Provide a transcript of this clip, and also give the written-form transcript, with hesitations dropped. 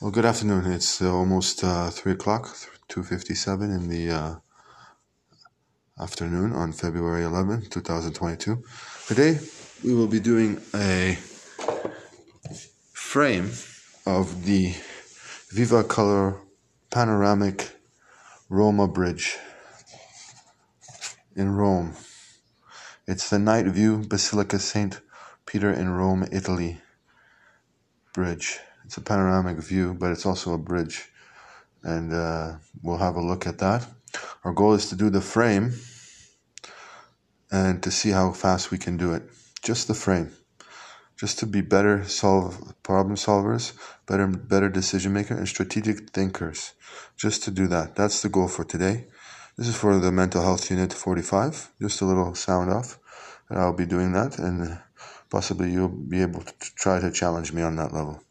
Well, good afternoon. It's almost 3 o'clock, 2:57 in the afternoon on February 11th, 2022. Today, we will be doing a frame of the Viva Color Panoramic Roma Bridge in Rome. It's the Night View Basilica St. Peter in Rome, Italy bridge. It's a panoramic view, but it's also a bridge. And we'll have a look at that. Our goal is to do the frame and to see how fast we can do it. Just the frame. Just to be better problem solvers, better decision makers, and strategic thinkers. Just to do that. That's the goal for today. This is for the Mental Health Unit 45. Just a little sound off. And I'll be doing that, and possibly you'll be able to try to challenge me on that level.